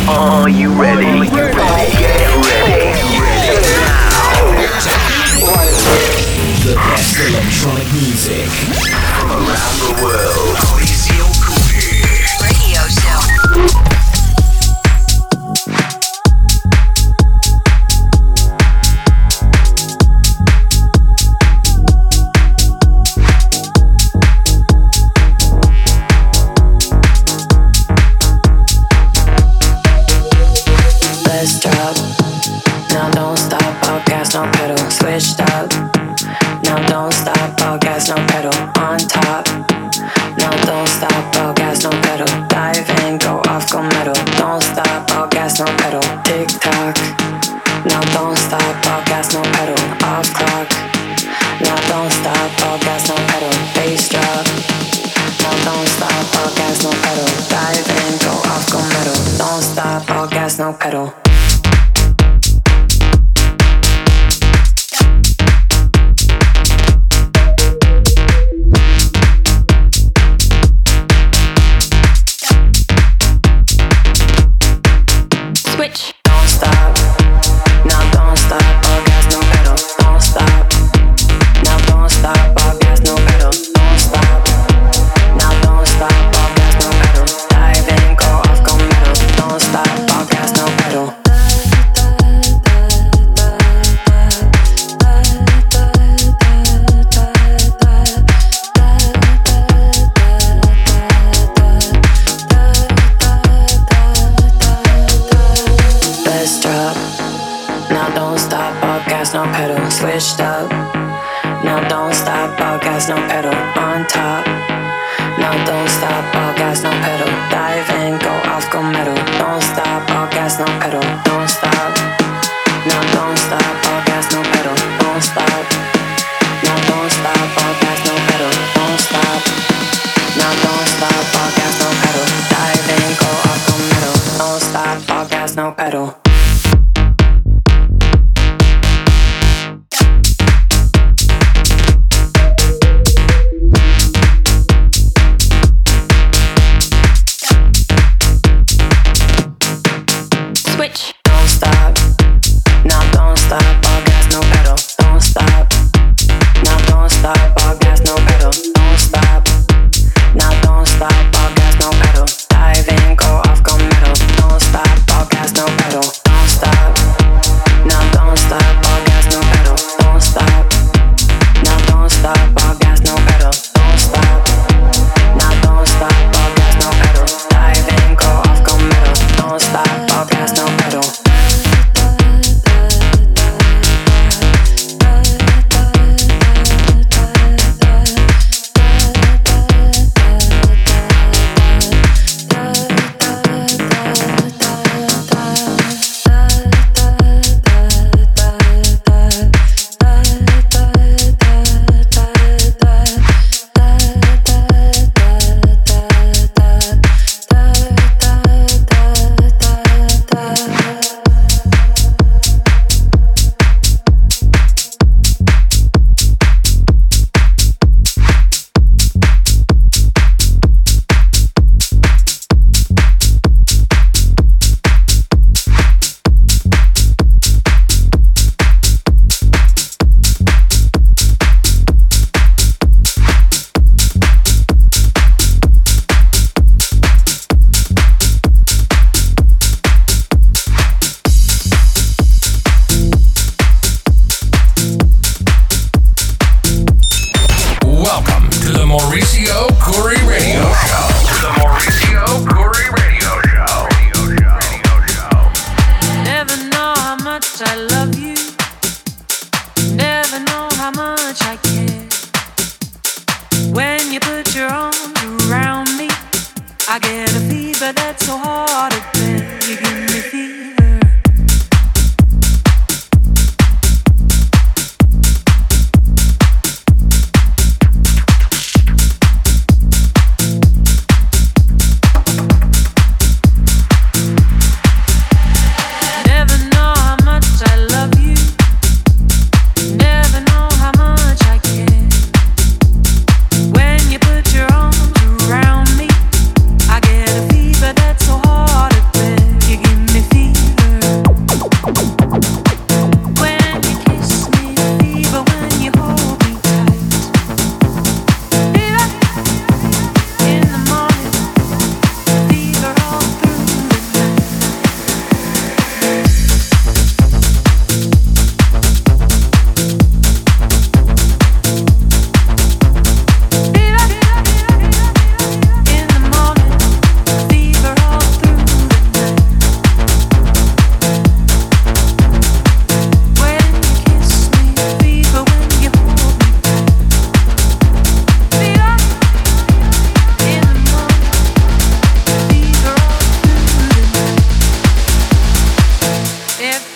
Are you ready? Get ready. The best electronic music From around the world. Radio show. Let's drop. Now don't stop, all gas, no pedal. Switched up. Now don't stop, all gas, no pedal. On top. Now don't stop, all gas, no pedal. Dive in, go off, go metal. Don't stop, all gas, no pedal. Tick tock. Now don't stop, all gas, no pedal. Off clock. Now don't stop, all gas, no pedal. Bass drop. Now don't stop, all gas, no pedal. Dive in, go off, go metal. Don't stop, all gas, no pedal. Switch. Don't stop. Now don't stop, all gas, no pedal. Don't stop. Now don't stop, all gas, no pedal. Don't stop. Now don't stop, all gas, no pedal. Dive in, go off, go metal. Don't stop, all gas, no pedal. Let's drop. Now don't stop, all gas, no pedal. Switched up. Now don't stop, all gas, no pedal. On top. Now don't stop, all gas, no pedal. Dive in, go off, go metal. Don't stop, all gas, no pedal. Don't stop. Now don't stop, all gas, no pedal. Don't stop. Now don't stop, all gas, no pedal. Don't stop. Now don't stop, all gas, no pedal. Dive in, go off, go metal. Don't stop, all gas, no pedal. Switch. Don't stop. Now don't stop, all gas, no pedal. Don't stop. Now don't stop, all gas, no pedal. Don't stop. Now don't stop, all gas, no pedal. Dive in, go off, go metal. Don't stop, all gas, no pedal. Don't stop. Now don't stop, all gas, no pedal. Don't stop. Now don't stop, all gas, no pedal. Don't stop. Now don't stop, all gas, no pedal. Dive in, go off, go metal. Don't stop, all gas, no pedal. Welcome to the Mauricio Curry Radio Show. The Mauricio Curry Radio Show. Never know how much I love you. Never know how much I care. When you put your arms around me, I get a fever that's so hard to bear. You give me fever. Never know how much I love you. Never know how much I care. When you put your arms around me, I get a fever that's so hard to bear. You give me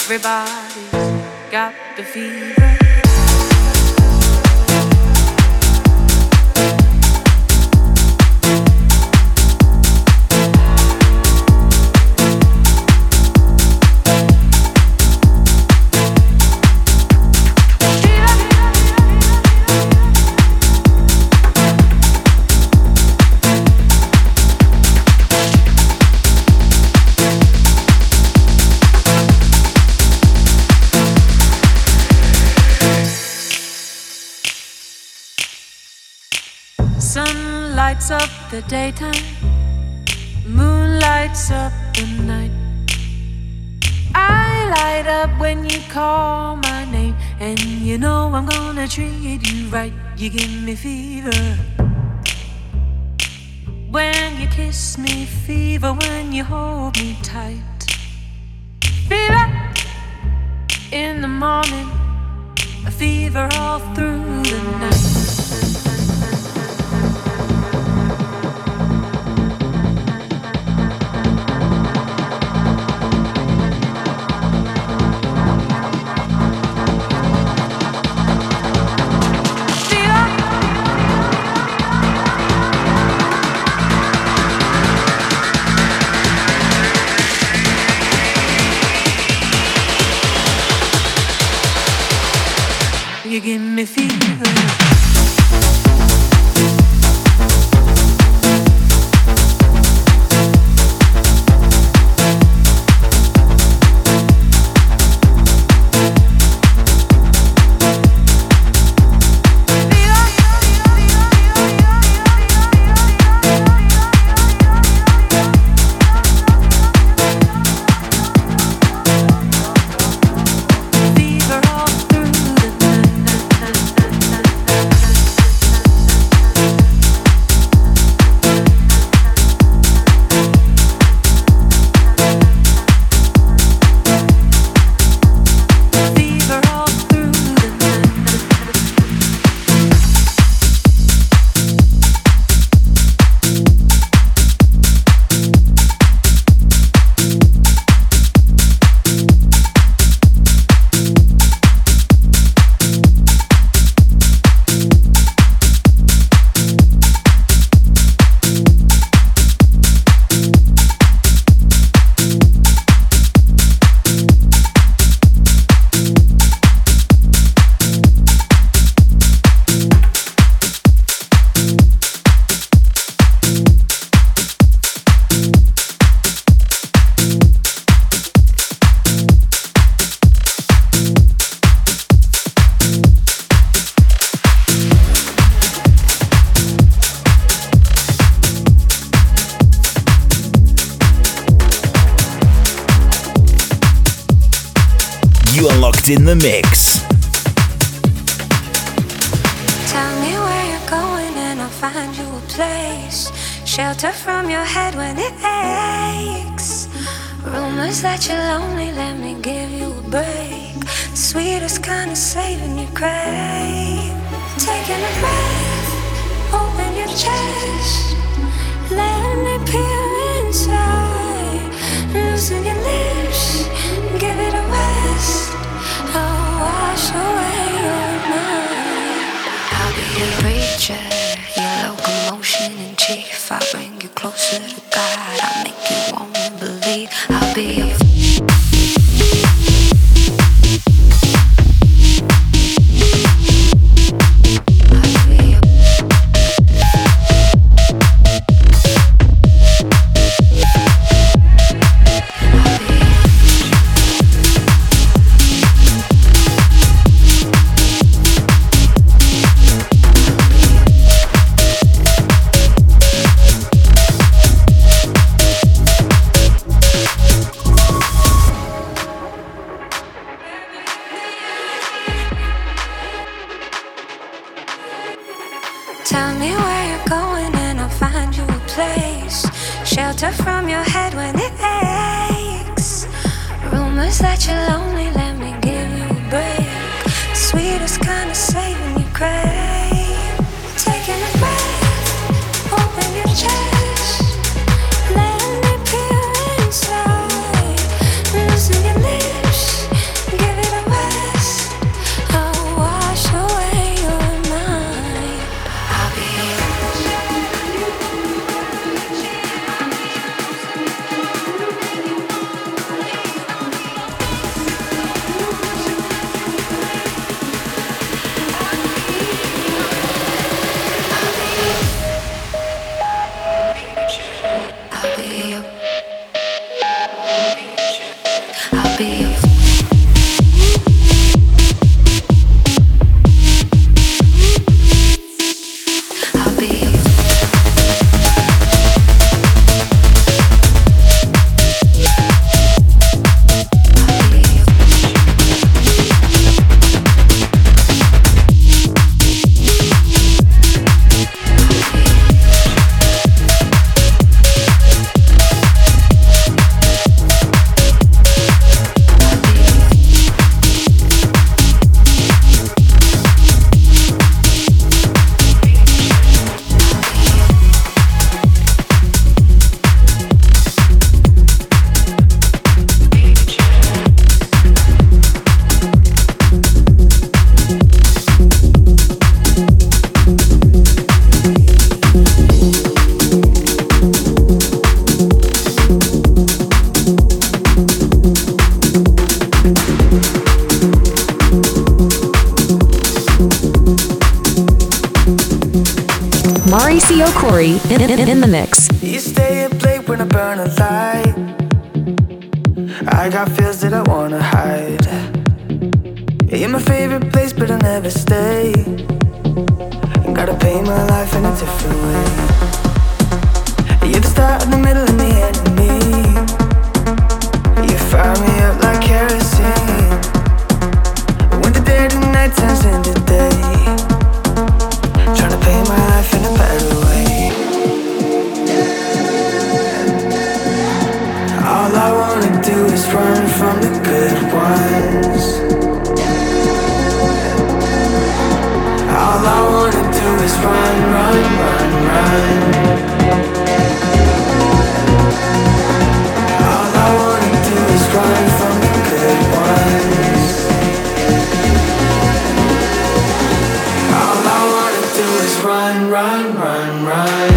Everybody's got the fever. Sun lights up the daytime, moon lights up the night. I light up when you call my name, and you know I'm gonna treat you right. You give me fever when you kiss me, fever when you hold me tight. Fever in the morning, a fever all through the night. You give me fever. In the mix. Tell me where you're going and I'll find you a place. Shelter from your head when it aches. Rumors that you're lonely, let me give you a break. Sweetest kind of saving you crave. Taking a breath, open your chest. Let me peer inside. Loosen your lips, give it a rest. I'll wash away your mind. I'll be your preacher, your locomotion in chief. I'll bring you closer to God. I'll make you wanna believe. I'll be your Tell me where you're going and I'll find you a place. Shelter from your head when it aches. Rumors that you're lonely, let me give you a break. Sweetest kind of saving you crave. Taking a breath, open your chest. Let me peer inside. Loosen your lips, Mauricio Corey in the mix. You stay up late when I burn a light. I got feels that I wanna hide. You're my favorite place, but I never stay. Gotta pay my life in a different way. You're the start in the middle and the end of me. You fire me up like kerosene. When the dead and night turns into day. Trying to pay my life in a better way. All I wanna do is run from the good ones. All I wanna do is run, run, run, run. All I wanna do is run from the good ones. All I wanna do is run, run, run, run.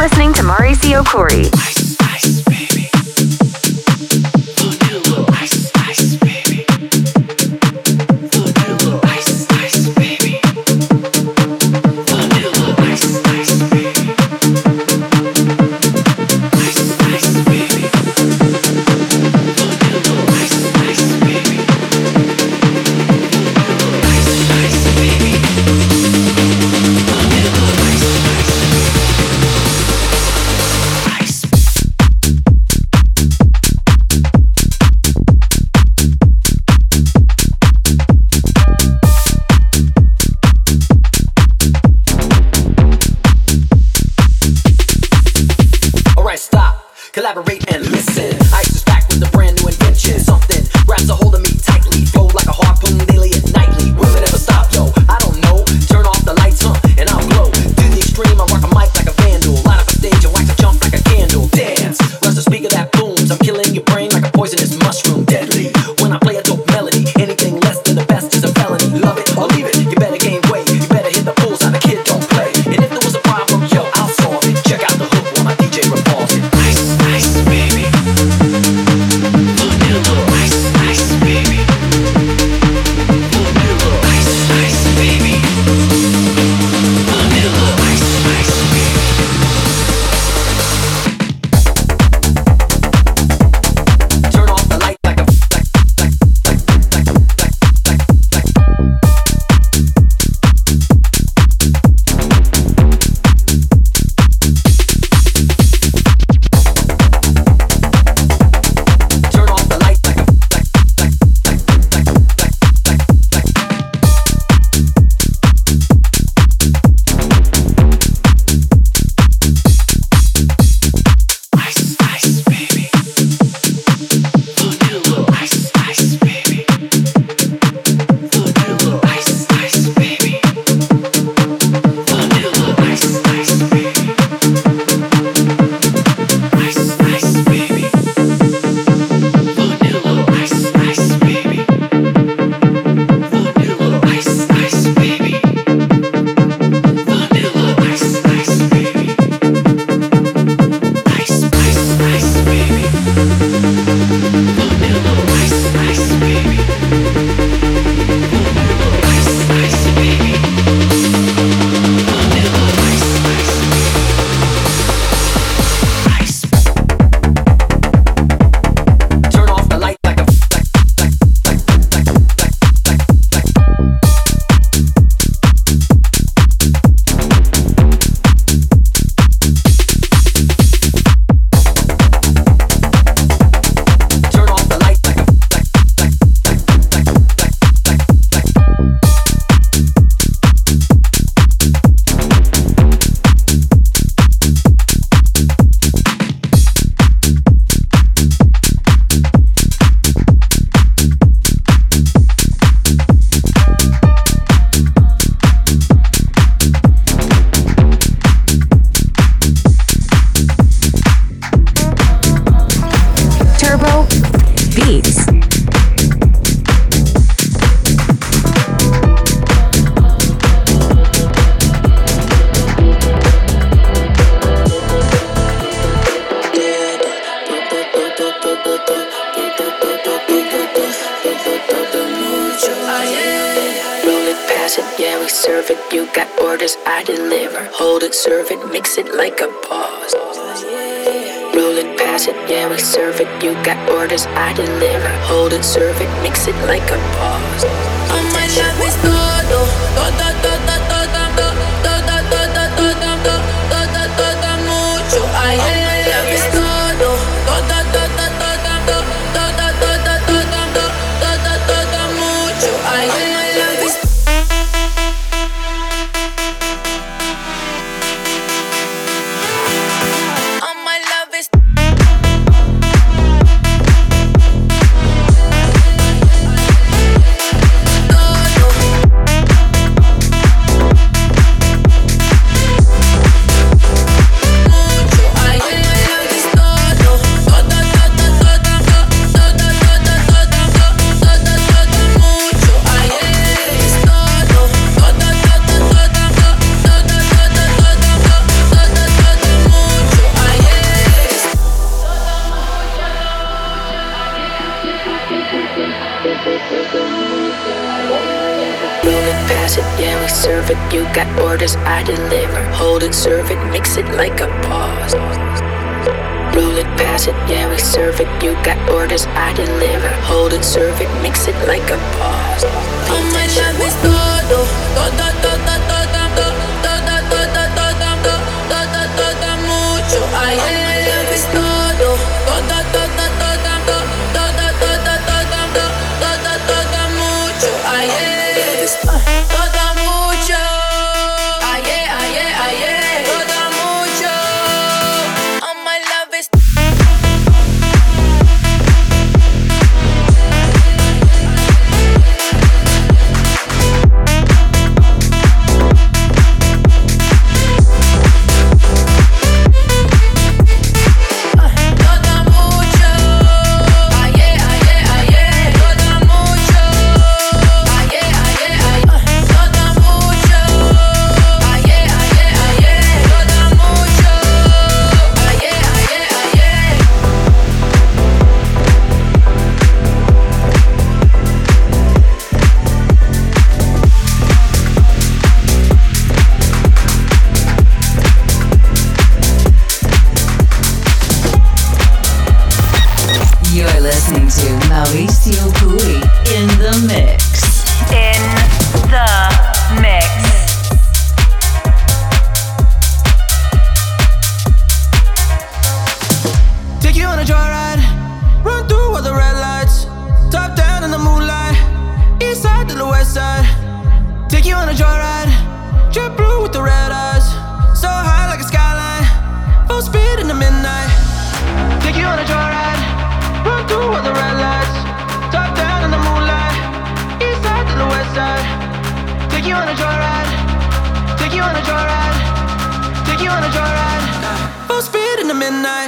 listening to Mauricio Corey. Collaborate and listen. Ice is back with a brand new invention. Something grabs a hold of me tightly. Flow like a harpoon daily and nightly. Will it ever stop, yo? I don't know. Turn off the lights, and I'll glow. To the extreme, I rock a mic like a vandal. Light up a stage and wax a jump like a candle. Dance, rush the speaker that booms. I'm killing your brain like a poisonous mushroom. Deadly, when I play a dope melody. Anything less than the best is a felony. Love it or leave it, you better gain weight. You better hit the bullseye, the kid don't play. And if there was a problem, yo, I'll solve it. Check out the hook while my DJ revolves it. Serve it, mix it like a boss. Roll it, pass it, yeah, we serve it. You got orders, I deliver. Hold it, serve it, mix it like a boss. Oh, my love is todo, todo, todo, todo, todo, todo, todo, todo, todo, mucho. Ay, my love is todo, todo, todo, todo, todo, todo, todo, todo, todo, mucho. Ay, my love is orders, I deliver. Hold it, serve it, mix it like a boss. Roll it, pass it, yeah, we serve it. You got orders, I deliver. Hold it, serve it, mix it like a boss. Oh, my love is todo, todo, todo, todo, todo, todo, todo, todo, todo, mucho. Ay, oh, my love is todo, todo, todo, todo, todo, todo, todo, todo, todo, mucho. Ay, todo mucho. Ay, todo mucho. Oh, my love is. Mauricio Curi in the mix. In the mix. Take you on a joyride, run through all the red lights, top down in the moonlight, east side to the west side. Take you on a joyride, jet blue with the red eyes, so high like a skyline, full speed in the midnight. Take you on a joyride, run through all the red lights, top down in the moonlight, east side to the west side. Take you on a joyride, take you on a joyride, take you on a joyride, full speed in the midnight.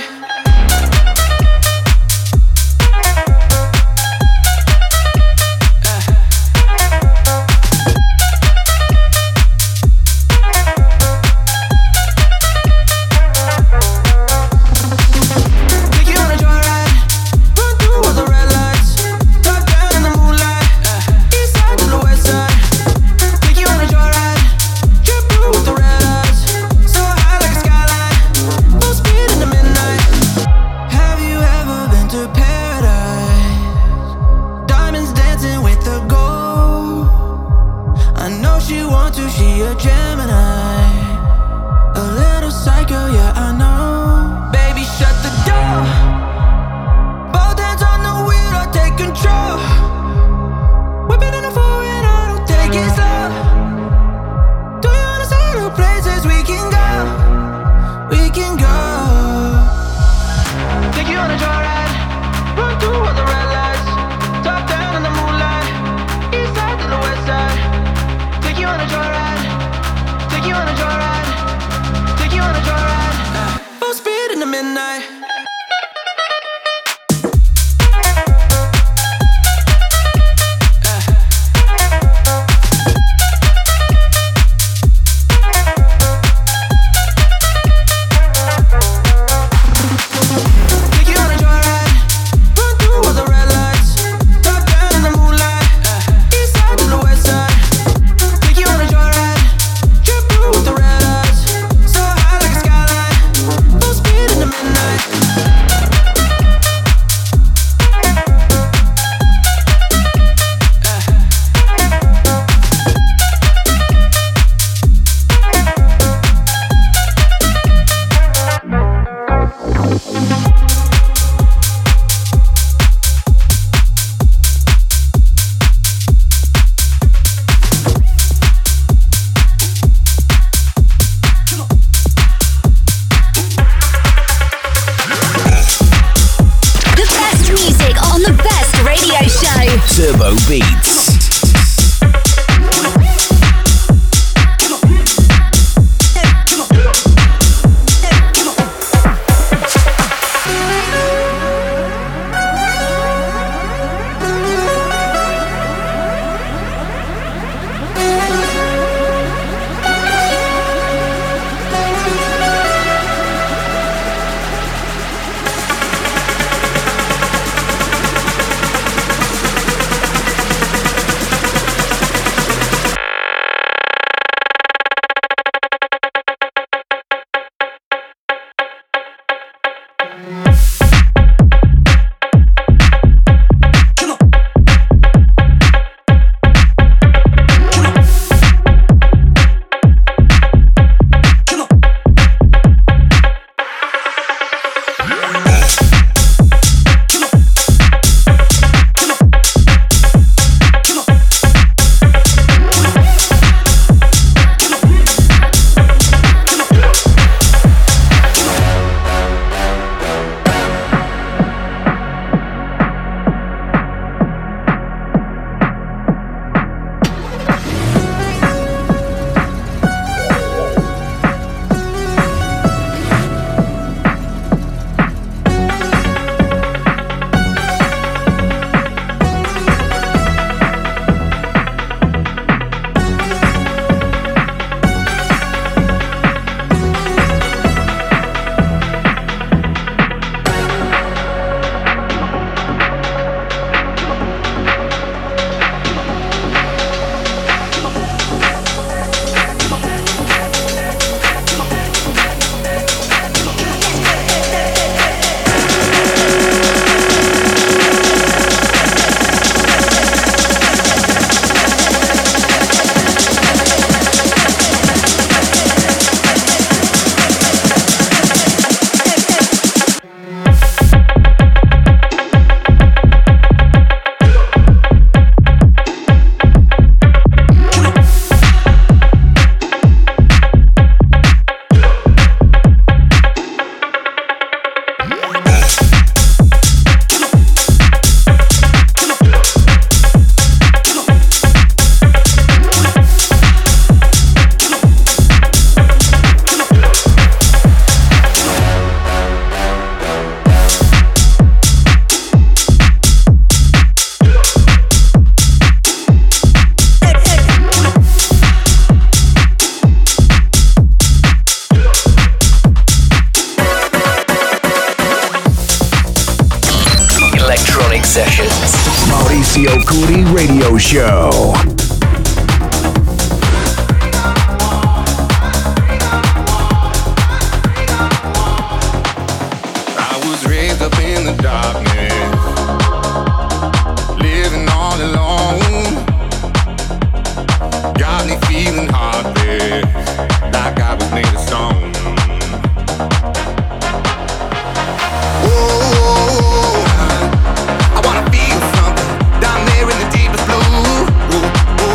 Turbo Beats. Sessions. Mauricio Curi Radio Show. Raised up in the darkness, living all alone. Got me feeling heartless, like I was made of stone. Oh, I wanna feel something down there in the deepest blue.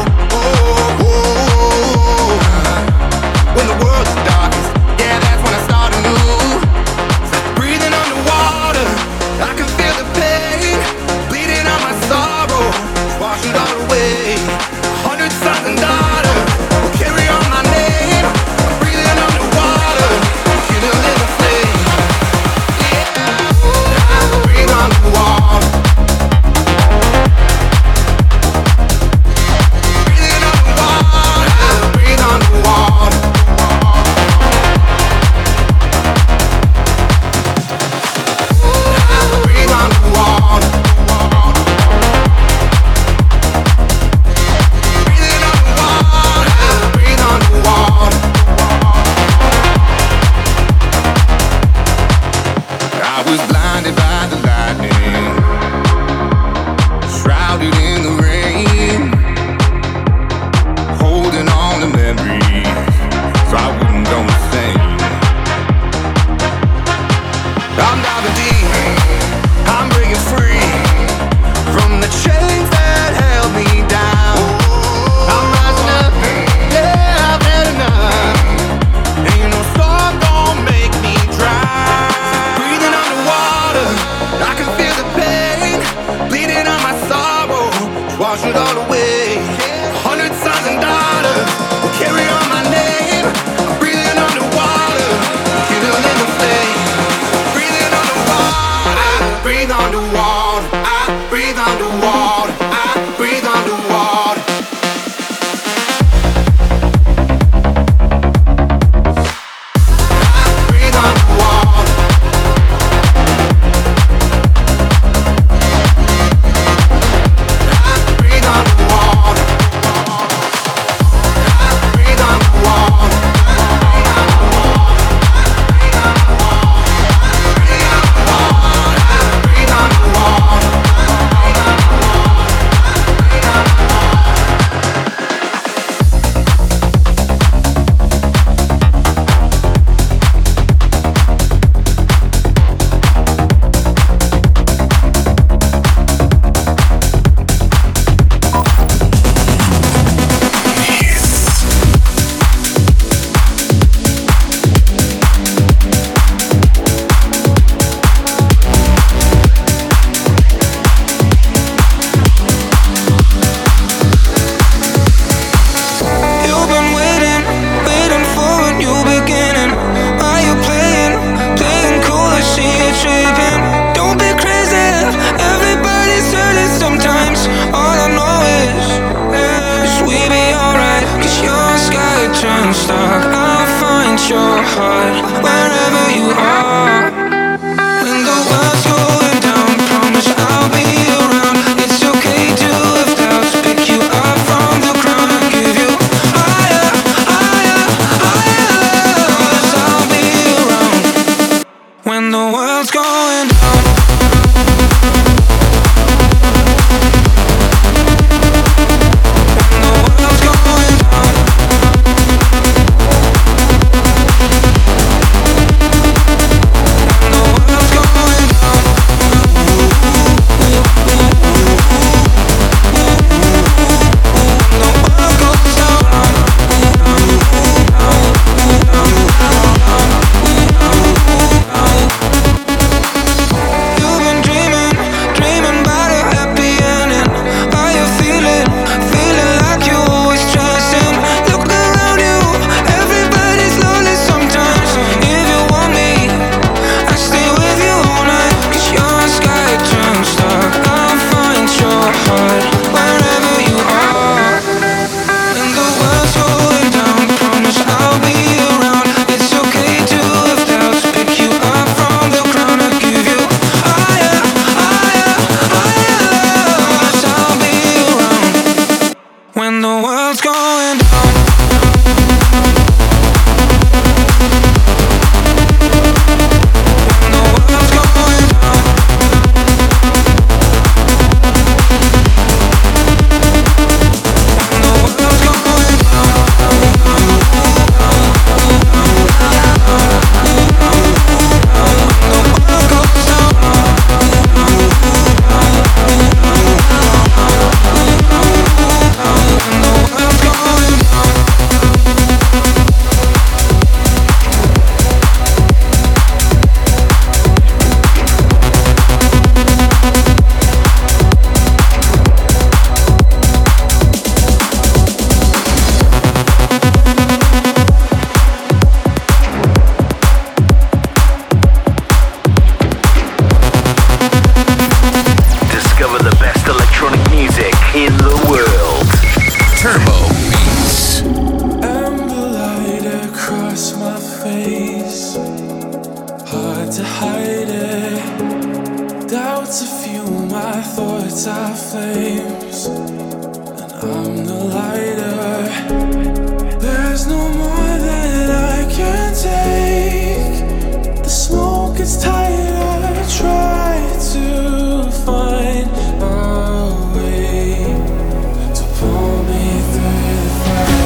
my face, hard to hide it. Doubts a few, my thoughts are flames, and I'm the lighter. There's no more that I can take. The smoke gets tighter, try to find a way to pull me through the fire.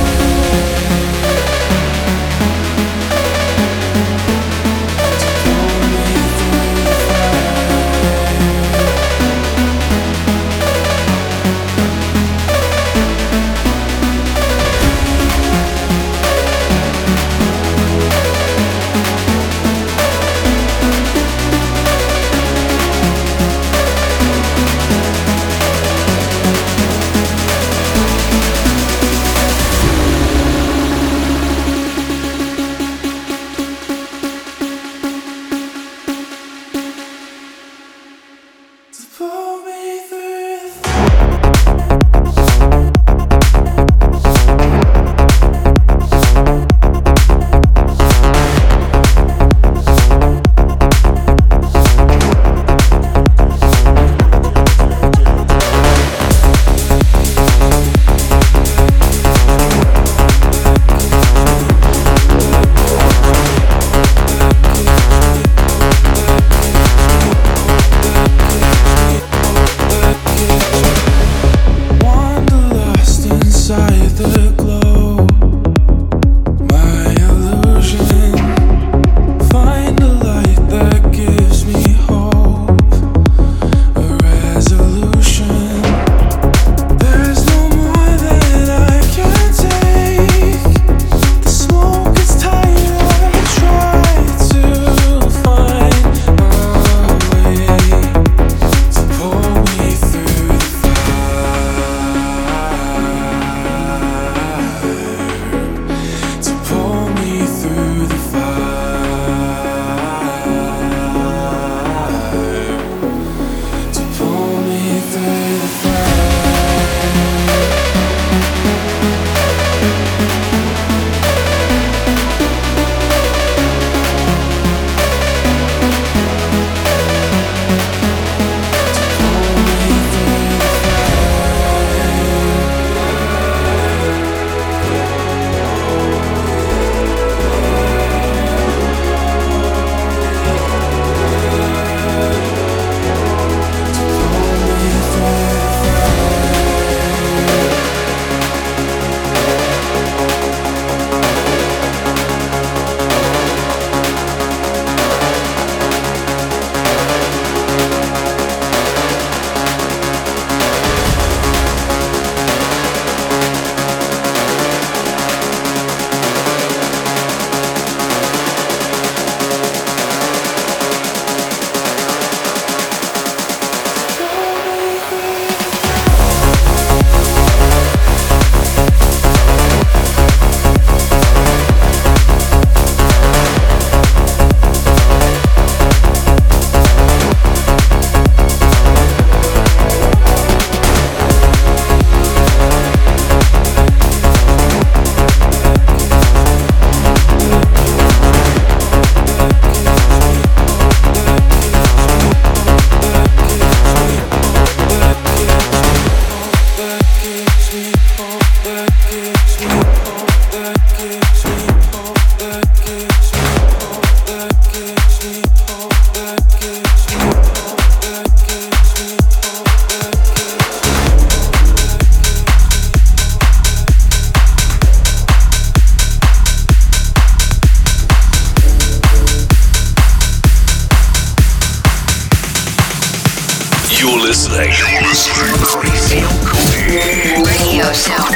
Radio Show.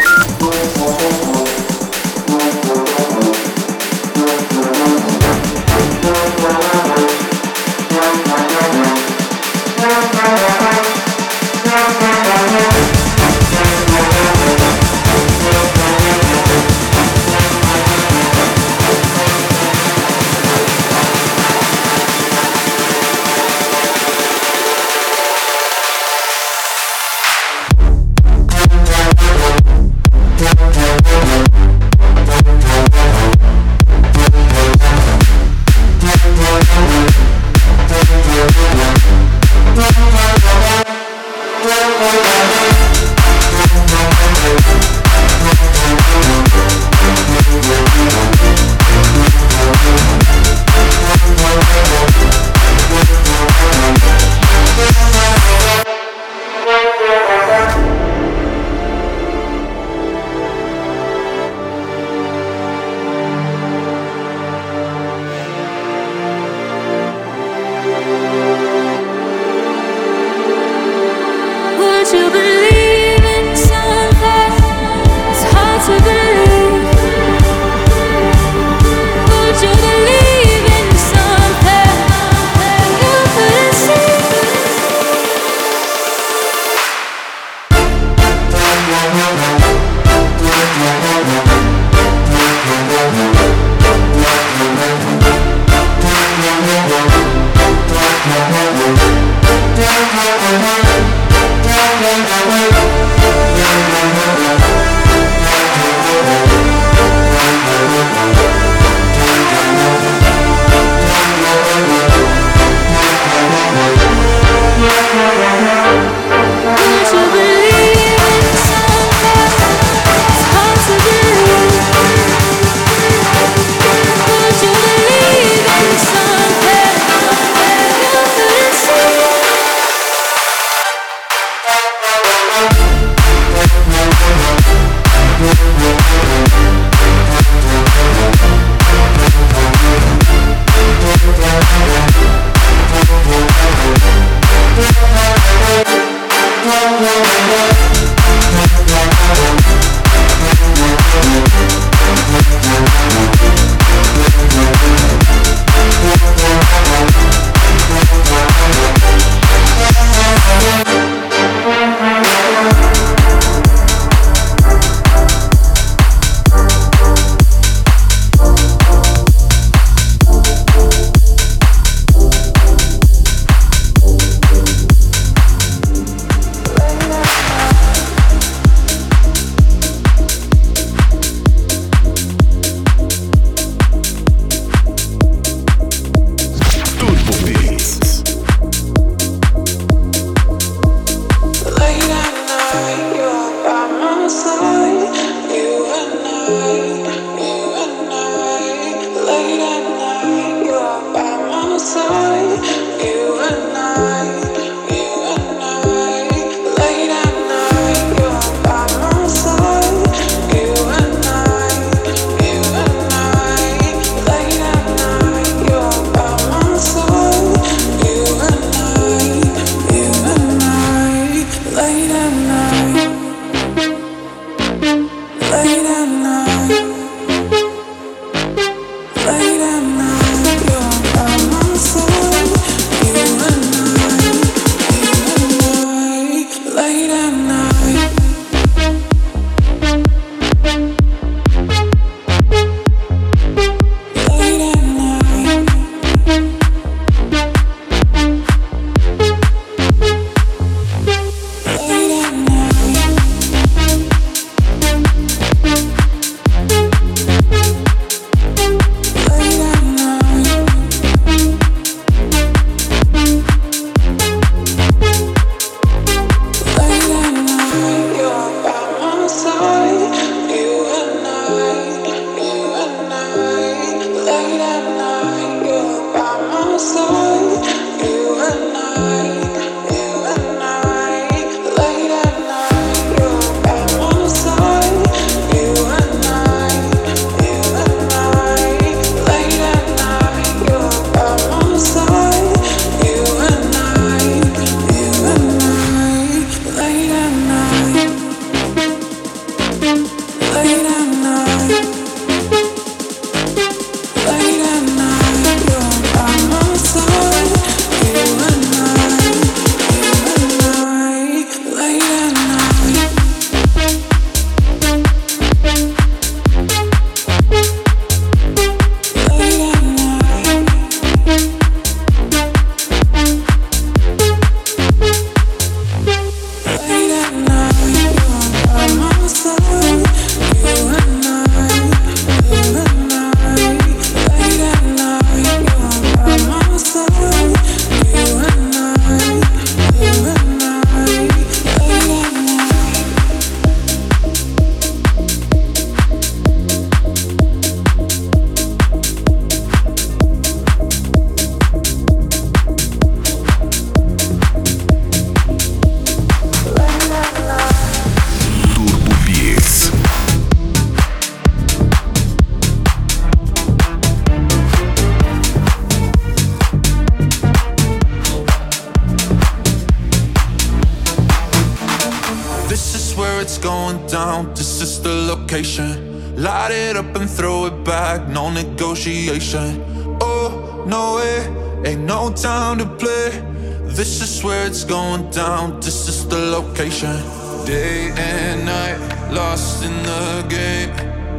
Light it up and throw it back, no negotiation. Oh, no way, ain't no time to play. This is where it's going down, this is the location. Day and night, lost in the game.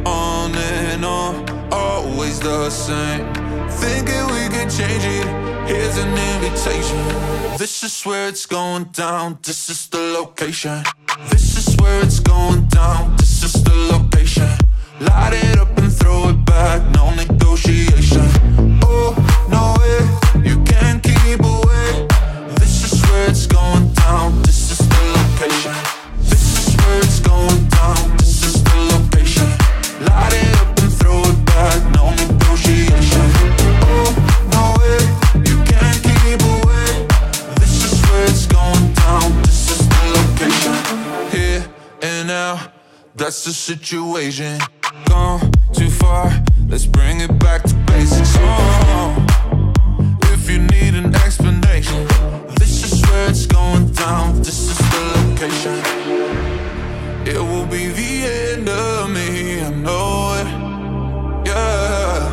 On and on, always the same. Thinking we could change it, here's an invitation. This is where it's going down, this is the location. This is where it's going down, this is the location. Light it up and throw it back, no negotiation. Oh, no way, you can't keep away. This is where it's going down, this is the location. This is where it's going down, this is the location. Light it up and throw it back, no negotiation. Oh, no way, you can't keep away. This is where it's going down, this is the location. Here and now, that's the situation. Gone too far, let's bring it back to basics. Oh, if you need an explanation, this is where it's going down, this is the location. It will be the end of me, I know it. Yeah,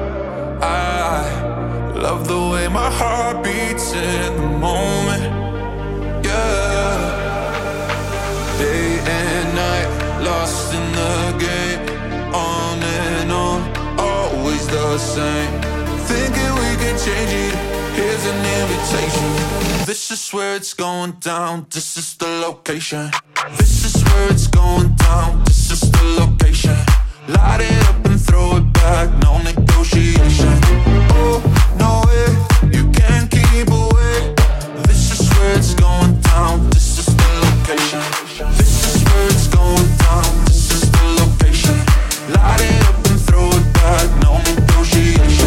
I love the way my heart beats in the moment. Yeah, day and night, lost in the game. On and on, always the same. Thinking we can change it, here's an invitation. This is where it's going down, this is the location. This is where it's going down, this is the location. Light it up and throw it back, no negotiation. Oh, no way, you can't keep away. This is where it's going down, this is the location. This is where it's going down, this is the location. Light it up and throw it back, no negotiation.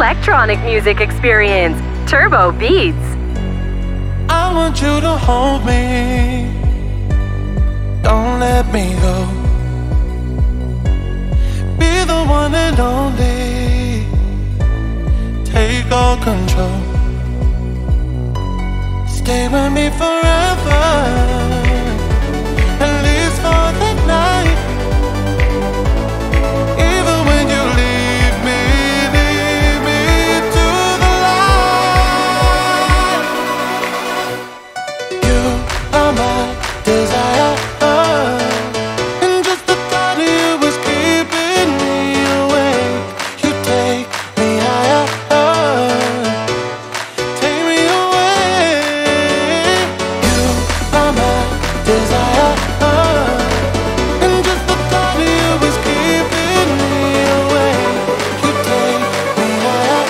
electronic music experience. Turbo Beats. I want you to hold me. Don't let me go. Be the one and only. Take all control. Stay with me forever. At least for the night. Even when you leave me to the light. You are my desire. And just the thought of you was keeping me awake. You take me higher. Take me away. You are my desire. And just the thought of you was keeping me awake. You take me higher.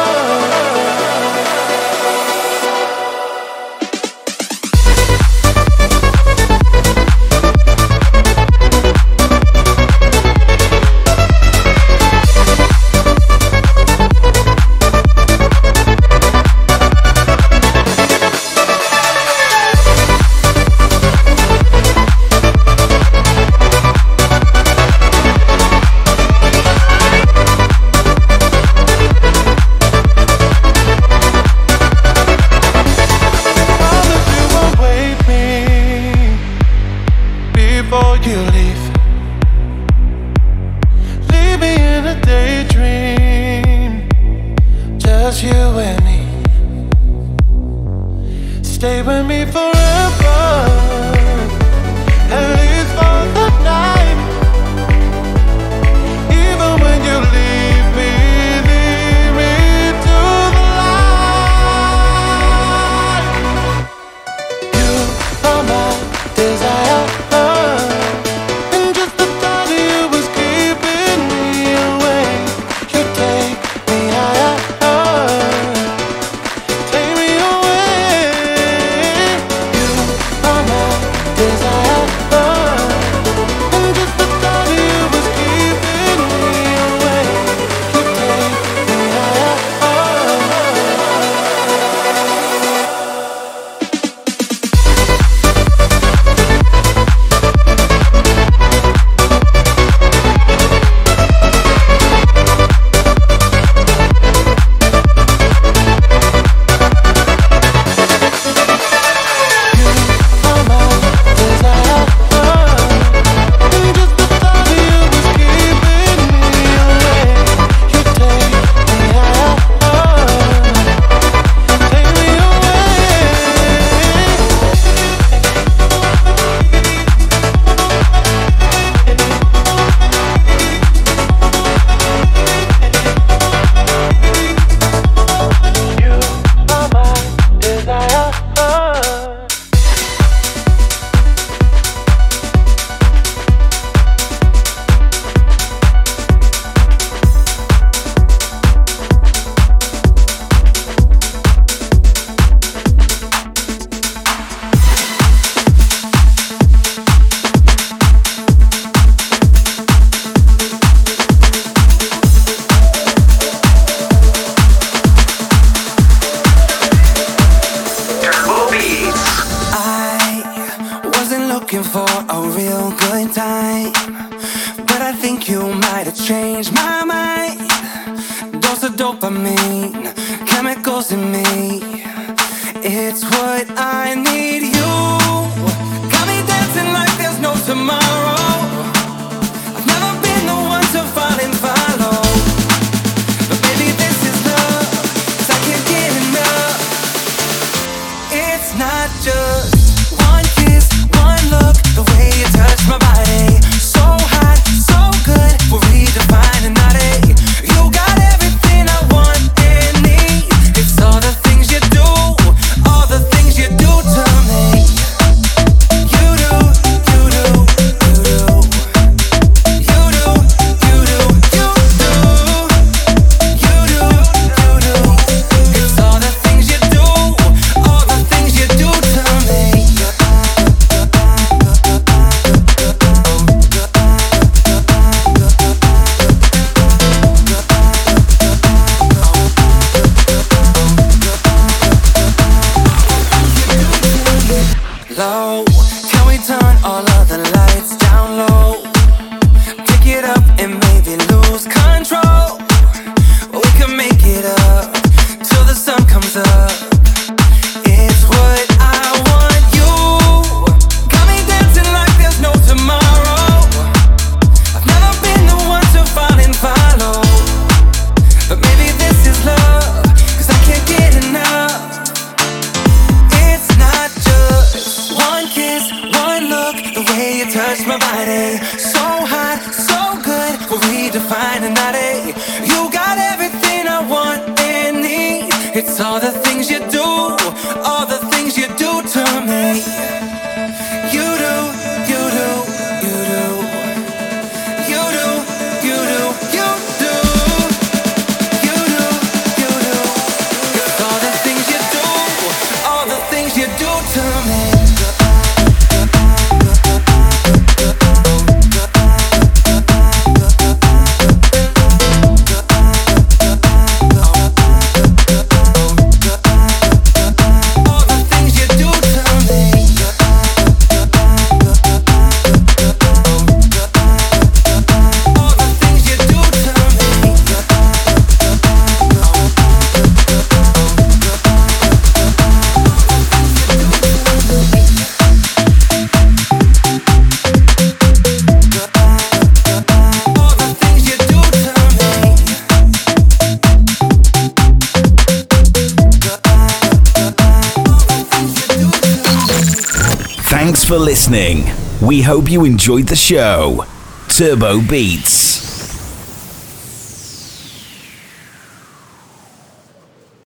Wait me before you leave. Leave me in a daydream. Just you and me. Stay with me forever. At least for the night. Even when you leave me to the light. You are my desire. And just the thought of you was keeping me awake. You take me higher. Take me away. You are my desire. And just the thought of you was keeping me awake. You take me higher. Turbo Beats. I wasn't looking for a real good time, but I think you might have changed my mind. Dose of dopamine, chemicals in me. It's what I need. You got me dancing like there's no tomorrow. I've never been the one to fall and follow, but baby this is love, 'cause I can't get enough. It's not just one kiss, one look, the way you touch my body. So hot, so good, we're redefining that. You got everything I want and need. It's all the things you do, all the things you do to me. You do, you do, you do. You do, you do, you do. You do, you do. It's all the things you do, all the things you do to me. low. Can we turn all of the lights down low? Pick it up and maybe lose control. We can make it up till the sun comes up. It's what I want you. Got me dancing like there's no tomorrow. I've never been the one to fall and follow, but maybe this is love, 'cause I can't get enough. It's not just one kiss, one look, the way you touch my body. So hot, so good, we're redefining that A. You got everything I want and need. It's all the things you do, all the things you do to me. You do, you do, you do. You do, you do, you do. You do, you do. It's all the things you do, all the things you do to me. Thanks for listening. We hope you enjoyed the show. Turbo Beats.